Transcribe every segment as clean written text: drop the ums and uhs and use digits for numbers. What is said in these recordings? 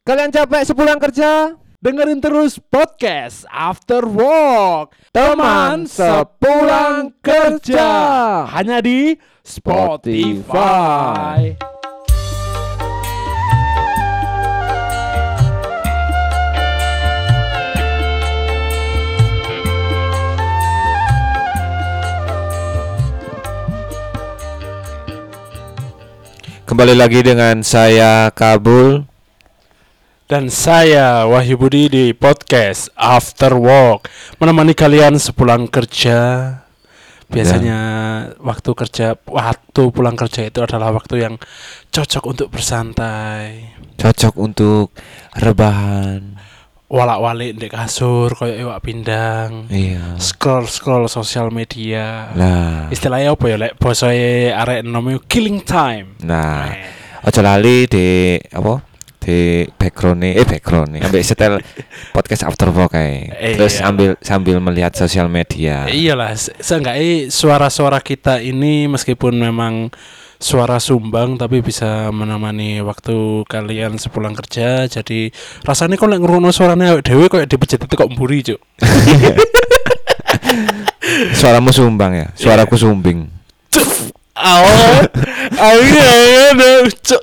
Kalian capek sepulang kerja? Dengerin terus podcast After Work Teman sepulang kerja. hanya di Spotify. Kembali lagi dengan saya Kabul. Dan saya Wahyu Budi di podcast After Work, menemani kalian sepulang kerja. Biasanya waktu pulang kerja itu adalah waktu yang cocok untuk bersantai, Cocok untuk rebahan. walak-walik di kasur kayak iwak pindang. Iya. Scroll sosial media. Nah, Istilahnya apa ya, lek bosoe arek enom killing time. nah, ojo lali di apa? Di background ambil setel podcast After Work kayak. Terus sambil melihat sosial media. Iyalah, seenggaknya suara-suara kita ini meskipun memang suara sumbang tapi bisa menemani waktu kalian sepulang kerja. Jadi rasanya kok lek ngrungokno suarane awake dhewe koyo dipecet itu kok mburi, Cuk. Suaramu sumbang ya, suaraku sumbing. Cuk.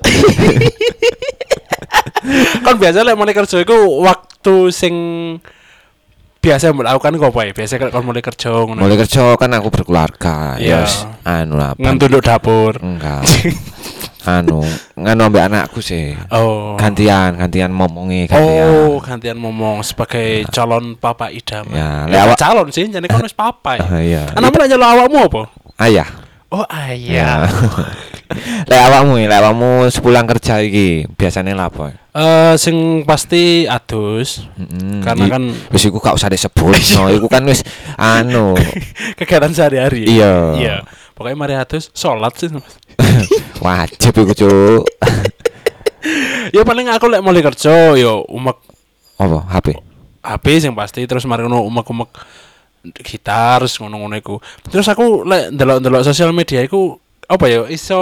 Kan biasa lek mulai kerja iku waktu sing biasa melakukan kok apa ya? Biasa kalau mulai kerja ngono. Mulai kerja kan aku berkeluarga. Iya. Yes, anu lah. Ngantunduk dapur. Enggak. nganu ambek anakku sih. Oh. Gantian ngomongi Gantian ngomong sebagai calon papa idaman. Ya, Lewat calon sih, jadi kan wis papa ya. Iya. Anakmu nanya lo awakmu apa? Ayah. Oh, ayah. Lek awakmu sepulang kerja iki biasane lha apa? Sing pasti adus. Karena kan wis iku gak usah disebut. No, iku kan wis anu kegiatan sehari-hari. Iya. Pokoknya mari adus salat sih. Wajib iku, Cuk. Ya paling aku lek mulai kerja yo umek Apa? HP sing pasti, terus mari ngono umek-umek gitar ngono-ngono iku. Terus aku lek ndelok-ndelok sosial media iku apa ya iso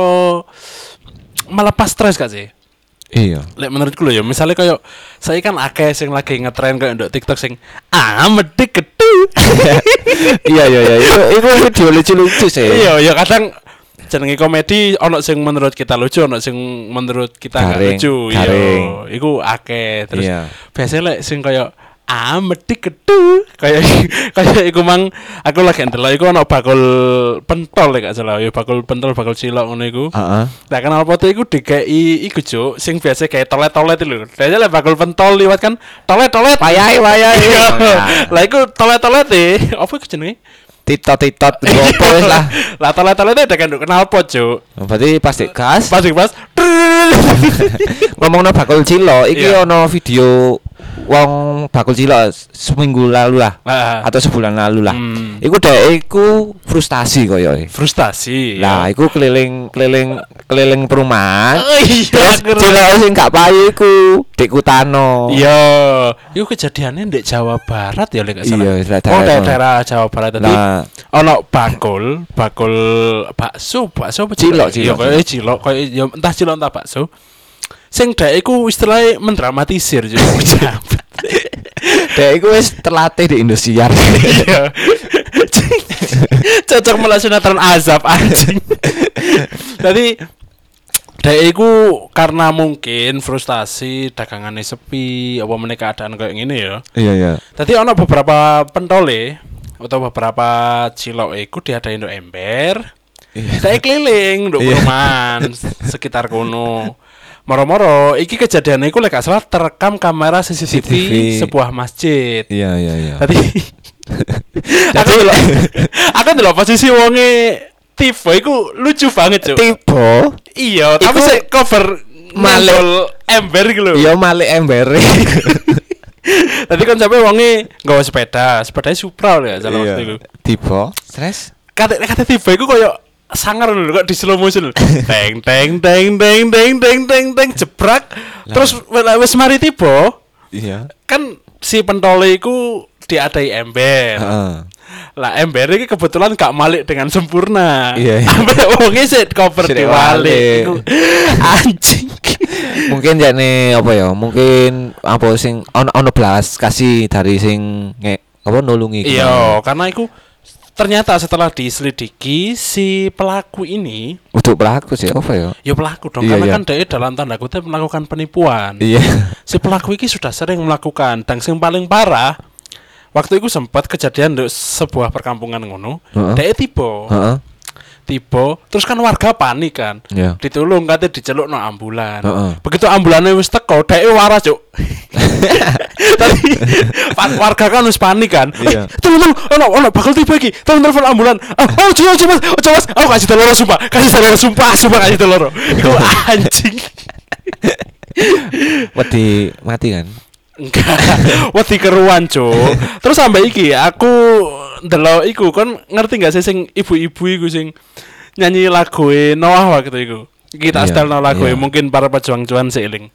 melepas stres gak sih? Iya. Lek menurutku lho ya, misalnya kayak saya kan akeh sing lagi ngetren kayak ndok TikTok sing medhik gedhu. Iya. Itu video lucu-lucu sih. Iya, kadang jenenge komedi ono sing menurut kita lucu, ono sing menurut kita gak lucu. Iya, iku akeh. Terus biasanya lek sing kayak medhik gedhu kayak iku mang aku lagi ndelok iku ono bakul pentol lek gak salah ya, bakul cilok ngono iku. Heeh. Nah, kenal foto iku dikei iku, Cuk, sing biasa kayak tolet-tolet itu lho. Dene lek bakul pentol liwat kan tolet-tolet. Wayahe. Lah iku tolet-tolet apa iku jenenge? Titot gopo wis lah. Lah tolet-tolet udah kan kenal pot, Cuk. Berarti pasti gas. Pas. Ngomongno bakul cilok, iki ono video wong bakul cilok seminggu lalu lah atau sebulan lalu lah. Iku dhek iku frustasi koyo. Frustasi. Lah, iku keliling perumahan. Iya, cilok sing gak payu iku dikutano. Iya, iku kejadiannya di Jawa Barat ya lek gak salah. Iya, daerah Jawa Barat tadi. Ono bakul bakso apa cilok. Ya koyo cilok, koyo ya entah cilok entah bakso. Sing dhek iku istilahnya mendramatisir juga. Dhek iku wis terlatih di Indosiar. Cocok malah sinetron azab anjing. Jadi dhek iku karena mungkin frustasi dagangannya sepi, apa meneh keadaan kayak gini ya. Iya. Tadi ono beberapa pentole atau beberapa cilok iku diadain nduk ember. Dhek keliling nduk perumahan sekitar kono. Moro-moro iki kejadiannya iku lek gak salah terekam kamera CCTV sebuah masjid. Iya. Tadi aku ndelok posisi wonge tipe iku lucu banget, Cuk. Tipe? Iya, tapi sik cover malih ember iku lho. Iya, malih ember. Tadi kan sampe wonge nggawa sepedanya Supra lho ya salah waktu iku. Tipe? Stres? Kata tipe iku koyo sangar lho kok di slow motion. Teng jebrak. Terus wis mari tiba. Iya. Kan si pentole iku diadai ember. Lah ember iki kebetulan gak malik dengan sempurna. Iya. Ambek wonge sik cover diwalik. Anjing. Mungkin jane apa ya? Mungkin apa sing ono belas kasih dari sing apa nulungi. Iya, karena iku ternyata setelah diselidiki si pelaku ini untuk pelaku sih apa ya? Ya pelaku dong, karena kan dia dalam tanda kutip melakukan penipuan. Iya. Si pelaku ini sudah sering melakukan, dan yang paling parah waktu itu sempat kejadian di sebuah perkampungan ngono, dia tiba, terus kan warga panik kan, ditolong katanya diceluk no ambulan. Begitu ambulannya wis teko, dia waras cuk. Tadi warga kan wis panik kan. Tolong, ono bakal tiba iki. Tolong telepon ambulan. Coba, aku kasih telur sumpah, kasih telur. Iku anjing. Wedi mati kan? Enggak, wedi keruan cuk. Terus sampai iki aku ndelok iku kon ngerti gak sih sing ibu-ibu iku sing nyanyi lagu Noah waktu iku. Kita setel lagu mungkin para pejuang cuan seiling.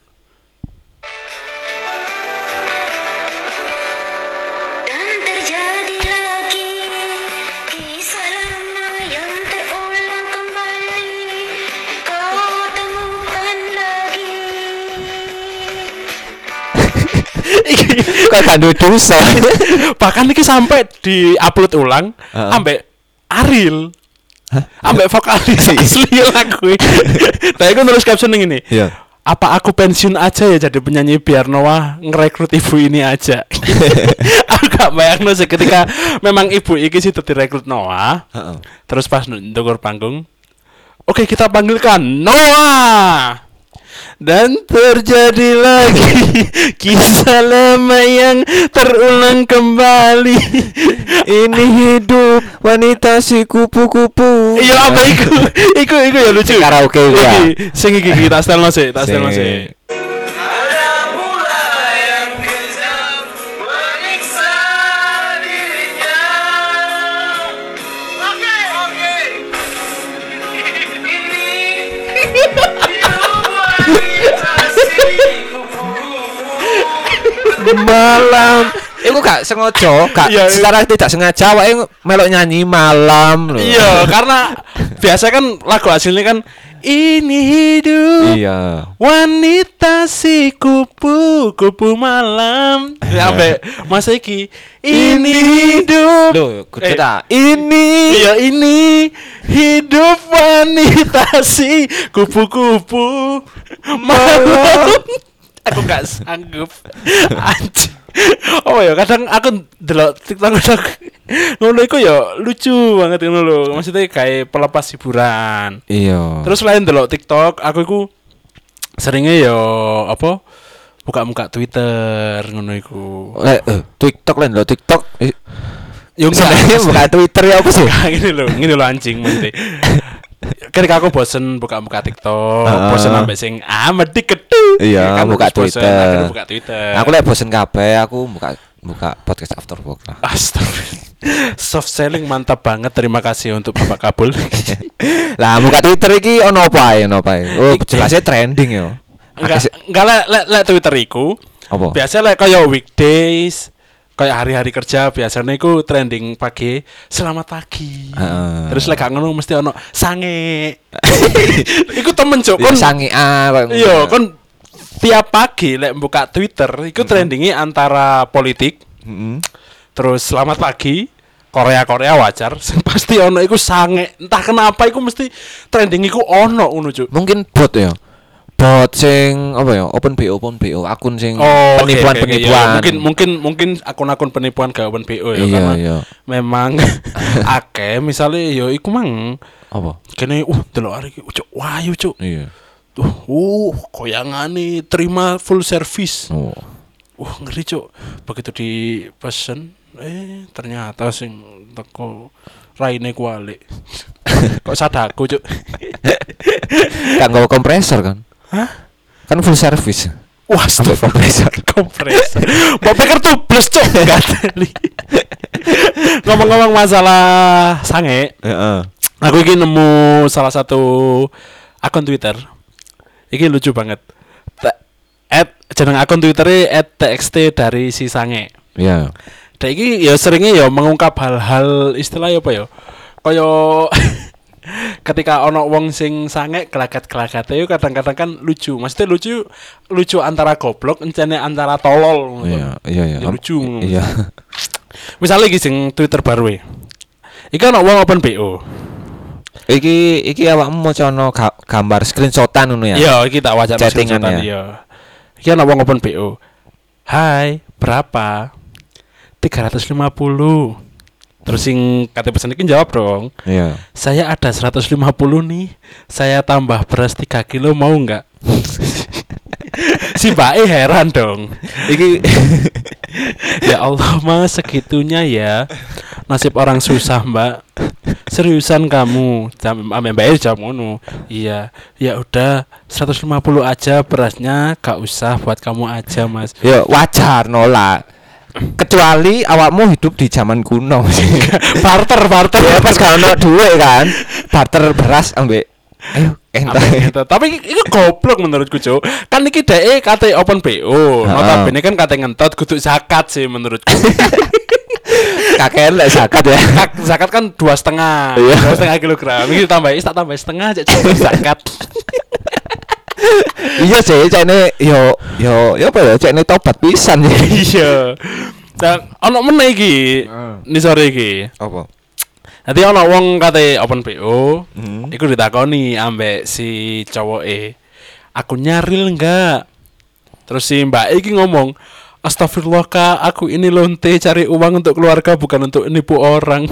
Kok kandu dosa. Bahkan iki sampai di-upload ulang ambek Ariel. Ambek vokalis asli lagu. Nah, aku nulis caption ini. Iya. Apa aku pensiun aja ya jadi penyanyi biar Noah ngerekrut ibu ini aja. Aku gak bayangno sih ketika memang ibu iki sih direkrut Noah. Terus pas ndukur panggung, oke, kita panggilkan Noah. Dan terjadi lagi kisah lama yang terulang kembali. Ini hidup wanita si kupu-kupu. Iya apa iku ya lucu. Karaoke ya. Sing iki kita setelno sih, malam. Iku gak sengaja, secara tidak sengaja awake melok nyanyi malam lho. Iya, karena biasa kan lagu aslinya kan ini hidup. Iya. Wanita si kupu-kupu malam. Sampai masa iki ini hidup. Loh, kita ini. Iya, ini hidup wanita si kupu-kupu malam. Aku gak sanggup. Anjir. Oh ya, kadang aku delok TikTok ngono iku ya lucu banget ngono lho. Maksudnya kayak pelepas hiburan. Iya. Terus selain delok TikTok, aku iku seringnya ya apa? Buka-buka Twitter ngono iku. TikTok lah, TikTok. Yo enggak buka Twitter ya apa sih? Gini lho anjing mesti. Ketika aku bosen buka TikTok, bosen sampai sing medik ketu. Iya, kan buka Twitter. Buka Twitter. Aku lek bosen kabeh, aku buka podcast Afterwork lah. Astagfirullah. Soft selling mantap banget. Terima kasih untuk Bapak Kabul. Lah, buka Twitter iki ono apa ae? Oh, jelasnya trending yo. Enggak lek Twitter iku. Apa? Biasa lek kaya weekdays, kayak hari-hari kerja biasanya iku trending pagi, selamat pagi. Terus lek gak ngono mesti ono sange. Iku temen cuk kon. Sange Iya, kon tiap pagi lek buka Twitter iku trendingnya antara politik. Terus selamat pagi, Korea wajar. Pasti ono iku sange. Entah kenapa iku mesti trending iku ono ngono cuk. Mungkin bot ya. Bot sing apa ya? Open BO akun sing penipuan. Ya, mungkin akun-akun penipuan gak Open BO ya, karena memang akeh misalnya yo iku mang apa? Kene delok arek iki cuk wayu cuk. Iya. Koyangane terima full service. Ngeri cuk. Begitu dipesen ternyata sing teko raine kuali. Kok sadaku cuk. Kan nggawa kompresor kan? Hah? Kan full service. Wah, kompresor. Mbok pikir tubles cuk, gateli. Ngomong-ngomong masalah sange. Aku iki nemu salah satu akun Twitter. Iki lucu banget. Jeneng akun Twitternya @txt dari si sange. Iya. Dan iki ya seringnya ya mengungkap hal-hal istilah apa ya? Kaya ketika ono wong sing sange gelagat-gelagate yo kadang-kadang kan lucu. Maksudnya lucu antara goblok encene antara tolol. Iya. Lucu. Iya. Misalnya iki sing Twitter baru e. Iki ono wong open BO. Iki awakmu maca ono gambar screenshotan ngono ya. Iya, iki tak waca screenshotan iya. Iki ono wong open BO. Hai, berapa? 350. Terus sing kate pesen iki jawab dong. Iya. Saya ada 150 nih. Saya tambah beras 3 kilo mau enggak? Si Mbak heran dong. Iki ya Allah Mas segitunya ya. Nasib orang susah Mbak. Seriusan kamu? Mbak jawab ngono. Iya. Ya udah 150 aja berasnya, gak usah buat kamu aja Mas. Ya wajar nolak. Kecuali awakmu hidup di zaman kuno. barter ya pas gak ono duit kan. Barter beras ambek ayo entah. Tapi itu goblok menurutku, Cuk. Kan iki dhek kate open BO. Notabene kan kate ngentot kudu zakat sih menurutku. Kakean lek zakat ya. Zakat kan 2,5 kilogram. Iki tak tambah setengah aja zakat. Iya sih, cene yo apa ya? Cene tobat pisan ya. Iya. Dan ono meneh iki. Ni sore iki. Apa? Nanti ono wong kate open BO, iku ditakoni ambek si cowoke. Aku nyaril enggak? Terus si Mbak iki ngomong, "Astagfirullah Kak, aku ini lonte cari uang untuk keluarga bukan untuk nipu orang."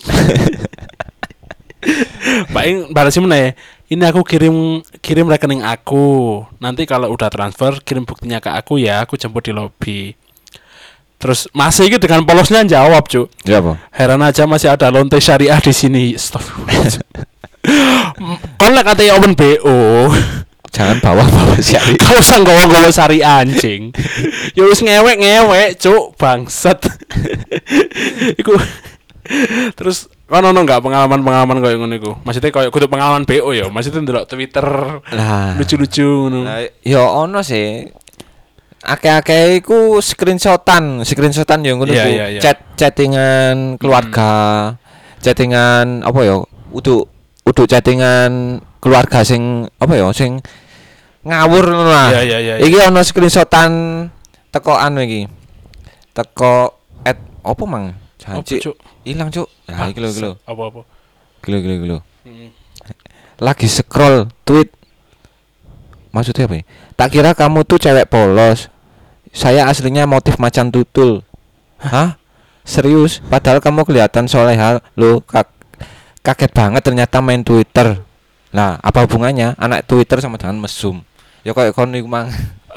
Mbak balas meneh, "Ini aku kirim rekening aku. Nanti kalau udah transfer kirim buktinya ke aku ya, aku jemput di lobi." Terus masih gitu dengan polosnya jawab, Cuk. Ya apa? Heran aja masih ada lonte syariah di sini. Stop. Kon lek kate open BO, jangan bawa syariah. Kau usah nggawa syariah anjing. Ya wis ngewek, Cuk, bangsat. Iku terus ono enggak pengalaman koyo ngono iku? Maksudnya koyo kudu pengalaman BO ya, maksudnya ndelok Twitter. Lah, lucu-lucu ngono. Ya ono sih. Akeh-akeh iku screenshotan yang ngono ku. Chattingan keluarga, chattingan apa ya? Udu chattingan keluarga sing apa ya? Sing ngawur ngono lah. Iki ono screenshotan teko anu iki. Teko apa mang? Janji. Hilang, Cuk. Nah, iki lho. Apa-apa? Gelo. Lagi scroll tweet. Maksudnya apa ya? Tak kira kamu tuh cewek polos. Saya aslinya motif macan tutul. Hah? Serius? Padahal kamu kelihatan soleha. Loh, kaget banget ternyata main Twitter. Nah, apa hubungannya anak Twitter sama dengan mesum? Ya kayak kon iku mang.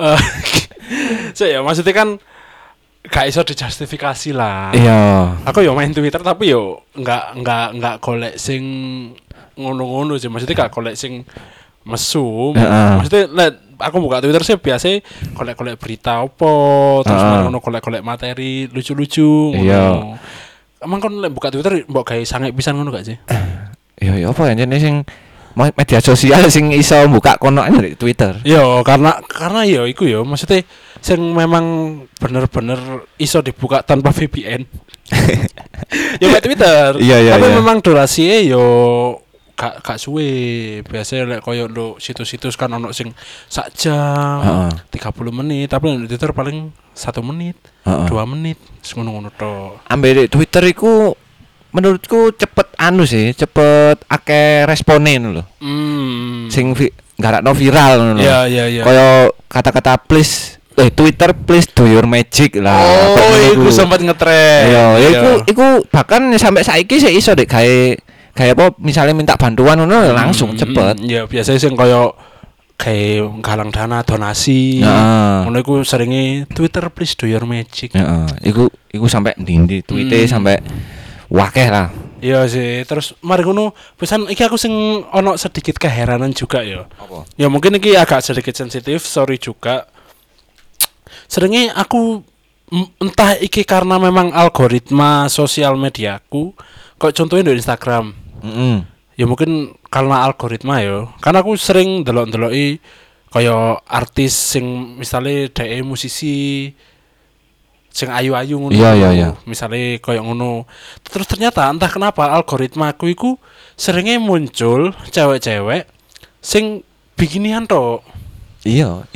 Ya maksudnya kan gak iso dijustifikasi lah. Iya. Aku yo main Twitter tapi yo enggak golek sing ngono-ngono sih. Maksudnya gak golek sing mesum. Maksudnya aku buka Twitter sih biasa golek-golek berita apa, terus ngono golek-golek materi lucu-lucu ngono. Iya. Emang kon lek buka Twitter mbok gawe sange pisan ngono gak sih? Iya apa ya jenenge sing media sosial sing iso buka kono dari Twitter. Yo karena yo iku yo maksudnya sing memang bener-bener iso dibuka tanpa VPN. Yo Twitter. Iya, tapi memang durasinya yo gak suwe. Biasanya lek koyo nduk situs-situs kan ono sing sak jam, 30 menit, tapi di Twitter paling 1 menit, 2 menit, ngono-ngono tok. Ambek Twitter iku menurutku cepet cepet akeh respone lho. Sing garakno viral ngono. Iya. Kaya kata-kata please Twitter please do your magic lah. Oh, iku sempat ngetrend. Iya, iku bahkan sampai saiki sih iso dek kayak apa misalnya minta bantuan ngono langsung cepet. Ya biasanya sing kaya kayak galang dana donasi. Ngono iku seringe Twitter please do your magic. Iku sampai ndi tweete sampai wakeh lah. Iya sih, terus mari ngono pesan iki aku sing ono sedikit keheranan juga ya. Apa? Ya mungkin iki agak sedikit sensitif, sorry juga. Seringe aku entah iki karena memang algoritma sosial mediaku, kok contohnya di Instagram. Ya mungkin karena algoritma ya. Karena aku sering delok-deloki kaya artis sing misalnya dhek musisi sing ayu-ayu ngono. Iya. Misale koyo ngono. Terus ternyata entah kenapa algoritmaku iku seringe muncul cewek-cewek sing bikinian tok. Iya.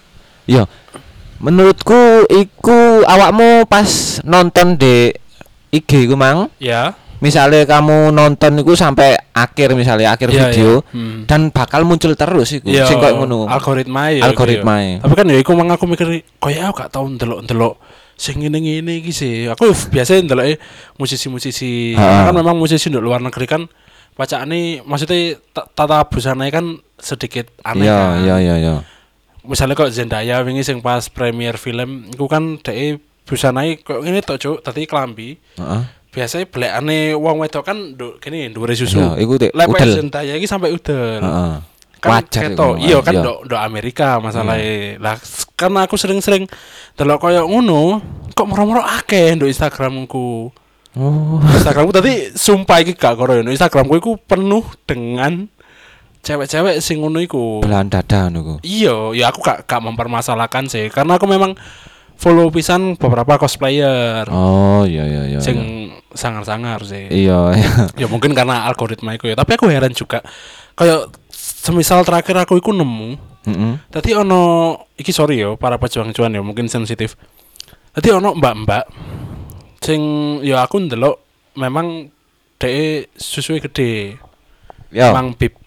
Menurutku iku awakmu pas nonton di IG iku mang. Ya. Misalnya kamu nonton iku sampai akhir video dan bakal muncul terus iku sing koyo ngono. Algoritmae. Tapi kan ya iku mang aku mikir koyo aku gak tau ndelok sing ngene-ngene iki sih. Aku biasa ndeloke musisi-musisi. Kan memang musisi di luar negeri kan bacaane maksudnya tata busana kan sedikit aneh kan. Iya. Misalnya kok Zendaya wingi sing pas premier film iku kan dhek busanae kok ngene tok cuk, dadi klambi. Biasanya belekane wong wedok kan kene dhuwure susu. Iya, iku udel. Zendaya iki sampai udel. Kan ketok. Iya kan ndok Amerika masalahe. Lah karena aku sering-sering delok koyo ngono, kok moro-moro akeh ndok Instagramku. Instagramku tadi sumpah iki gak karo yo. Instagramku iku penuh dengan cewek-cewek sing ngono iku. Belahan dada ngono. Iya, ya aku gak mempermasalahkan sih karena aku memang follow pisan beberapa cosplayer. Oh, iya. Sing sangar-sangar sih. Iya. Ya mungkin karena algoritma iku ya, tapi aku heran juga. Kayak semisal terakhir aku iku nemu. Tadi ono iki sorry yo para pejuang cuan yo mungkin sensitif. Tadi ono mbak-mbak sing ya aku ndelok memang dhek susuwe gede. Ya. Memang big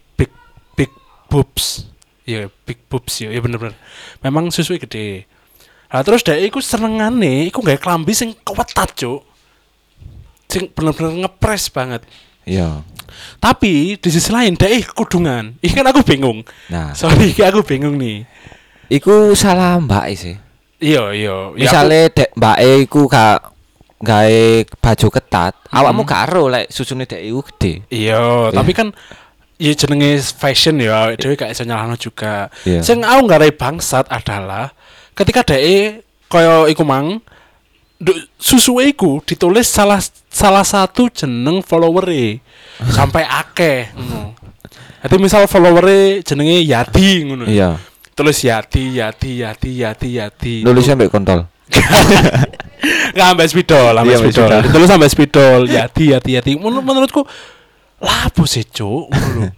boobs. Ya big boobs ya bener-bener. Memang susuwe gede. Nah terus dhek iku senengane iku gawe klambi sing kewetat, Cuk. Sing bener-bener ngepres banget. Iya. Tapi di sisi lain dhek kudungan. Iki kan aku bingung. Nah, sorry aku bingung nih. Iku salah mbak sih. Iya. Misale dek mbake iku gak gawe baju ketat, awakmu gak ero lek susune dek iku gede. Iya, tapi kan ya jenenge fashion ya, dhewe gak iso nyalahno juga. Sing aku ngarai bangsat adalah ketika dhek kaya iku mang susuwe iku ditulis salah satu jeneng followere sampai akeh ngono. Dadi misal followere jenenge Yati ngono. Iya. Tulis Yati. Nulisnya mbek kontol. Enggak sampai spidol. Terus sampai spidol Yati. Menurutku lapo sih, Cuk, ngono.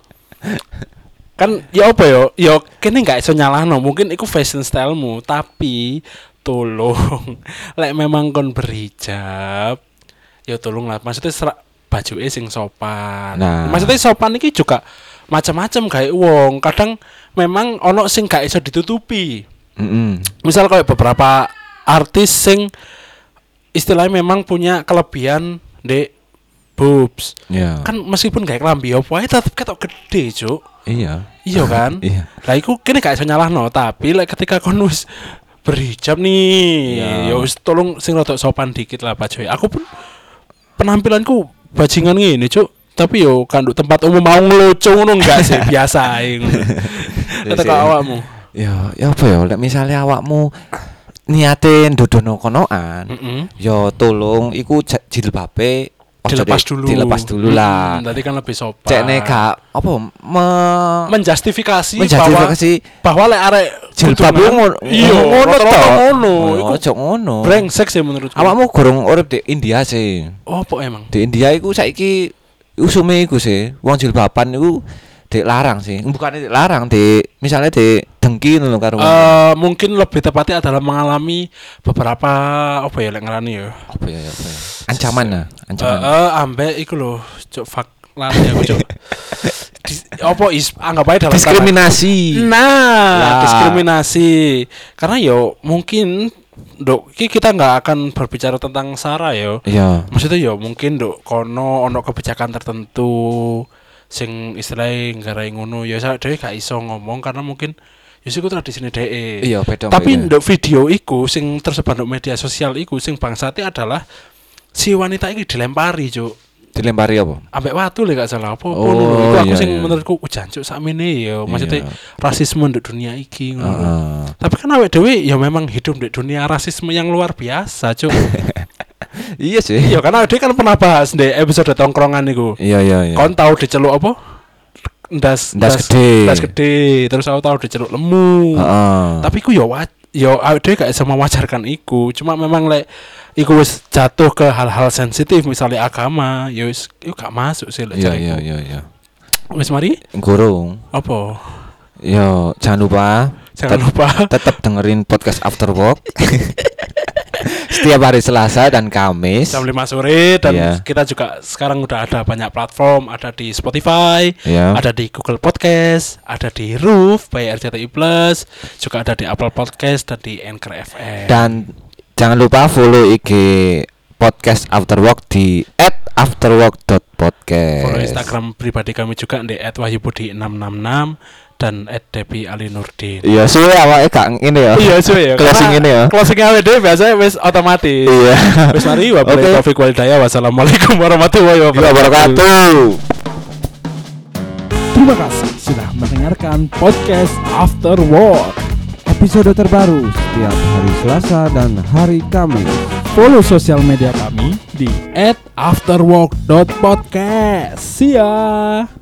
Kan ya apa ya? Ya kene gak iso nyalahno, mungkin iku fashion stylemu, tapi tolong lek memang kon berhijab, ya tolong lah. Maksudnya bajuke sing sopan. Nah. Maksudnya sopan iki juga macam-macam kayak wong. Kadang memang ono sing gak iso ditutupi. Misal kayak beberapa artis sing istilahnya memang punya kelebihan di boobs. Kan meskipun kayak klambi opo ae tetep ketok gede, Cuk. Iya kan? Iya. Lah iku kene gak iso nyalahno, tapi ketika kon wis berhijab nih, ya wis tolong sing rada sopan dikit lah bajuke. Aku pun penampilanku bajingan ngene, Cuk. Tapi yo kanduk tempat umum mau ngelucu ngono enggak sih, biasa ae ngono. Kata awakmu. Ya apa ya, lek misale awakmu niate ndodono konoan, yo tolong iku jilbabe dilepas dulu lah. Tadi kan lebih sopan. Cekne gak apa menjustifikasi bahwa lek arek jilbab ngono. Iya, ngono. Iku ojo ngono. Brengsek sih menurutku. Awakmu gorong urip di India sih. Oh, apa emang? Di India iku saiki usume iku sih, wong jilbaban iku dilarang sih. Bukannya dilarang, misalnya dengki ngono karo. Mungkin lebih tepatnya adalah mengalami beberapa apa ya lek ngarani ya. Apa ya. Ancaman. Ambek iku lho, cuk fak lali aku cuk. Apa anggap aja dalam diskriminasi. Diskriminasi. Karena yo mungkin kita nggak akan berbicara tentang sara yo. Iya. Maksudnya yo mungkin kono ono kebijakan tertentu sing istilahnya nggarai ngono ya saya dhewe gak iso ngomong karena mungkin ya iku tradisine dhewe. Iya, beda. Tapi nduk video iku sing tersebar nduk media sosial iku sing bangsate adalah si wanita iki dilempari, Cuk. Dilempari apa? Ambek watu lek gak salah apa. Iku aku sing menurutku jancuk sakmene ya maksudnya rasisme nduk dunia iki ngono. Tapi kan awake dhewe ya memang hidup di dunia rasisme yang luar biasa, Cuk. Iya sih. Iya karena dia kan pernah bahas di episode tongkrongan niku. Iya. Kon tahu diceluk apa? Ndas gede. Terus aku tahu diceluk lemu. Tapi ku ya yo awake gak bisa mewajarkan iku. Cuma memang lek iku wis jatuh ke hal-hal sensitif misalnya agama, yo wis gak masuk sih lek jariku. Iya. Wis mari? Gurung. Apa? Yo, jangan lupa tetap dengerin podcast After Work. Setiap hari Selasa dan Kamis jam 5 sore dan kita juga sekarang udah ada banyak platform, ada di Spotify, ada di Google Podcast, ada di Roof by RCTI Plus, juga ada di Apple Podcast dan di Anchor FM. Dan jangan lupa follow IG Podcast After Work di @afterwork.podcast. Follow Instagram pribadi kami juga di @wahyubudi666 dan @debi_ali_nurdin. Iya, suwe awake gak ngene ya. Iya, suwe ya. Closing ini ya. Closing awake dhewe biasanya wis otomatis. Iya. Wis mari wabillahi taufiq wal hidayah. Wassalamualaikum warahmatullahi wabarakatuh. Terima kasih sudah mendengarkan podcast After Work. Episode terbaru setiap hari Selasa dan hari Kamis. Follow sosial media kami di @afterwork.podcast. See ya.